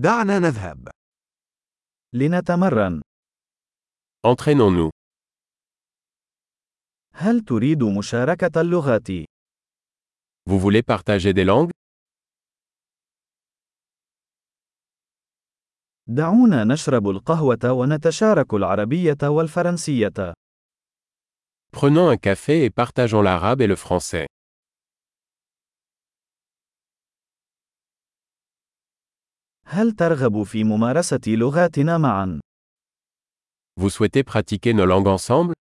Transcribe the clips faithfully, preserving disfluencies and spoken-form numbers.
دعنا نذهب. لنتمرن. Entraînons-nous. هل تريد مشاركة اللغات؟ Vous voulez partager des langues? دعونا نشرب القهوة ونتشارك العربية والفرنسية. Prenons un café et partageons l'arabe et le français. هل ترغب في ممارسة لغاتنا معا؟ Vous souhaitez pratiquer nos langues ensemble?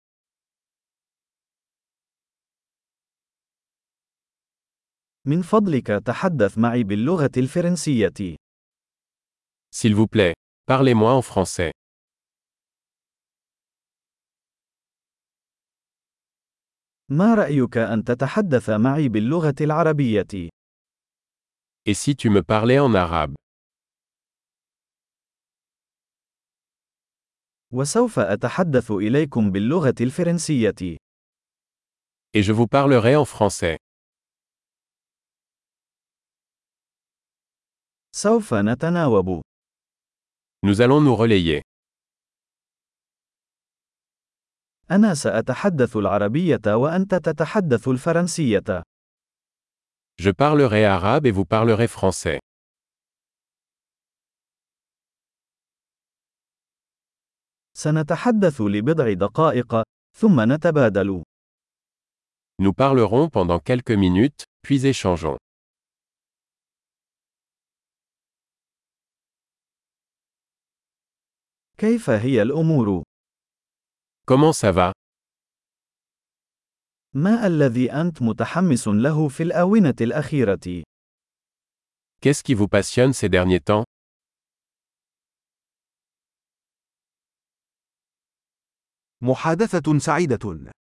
من فضلك تحدث معي باللغة الفرنسية. S'il vous plaît, parlez-moi en français. ما رأيك أن تتحدث معي باللغة العربية؟ Et si tu me parlais en arabe? وسوف أتحدث إليكم باللغة الفرنسية. Et je vous parlerai en français. سوف نتناوب. Nous allons nous relayer. أنا سأتحدث العربية وأنت تتحدث الفرنسية. Je parlerai arabe et vous parlerez français. سنتحدث لبضع دقائق، ثم نتبادل. Nous parlerons pendant quelques minutes, puis échangeons. كيف هي الأمور؟ Comment ça va? ما الذي أنت متحمس له في الآونة الأخيرة؟ Qu'est-ce qui vous passionne ces derniers temps? محادثة سعيدة.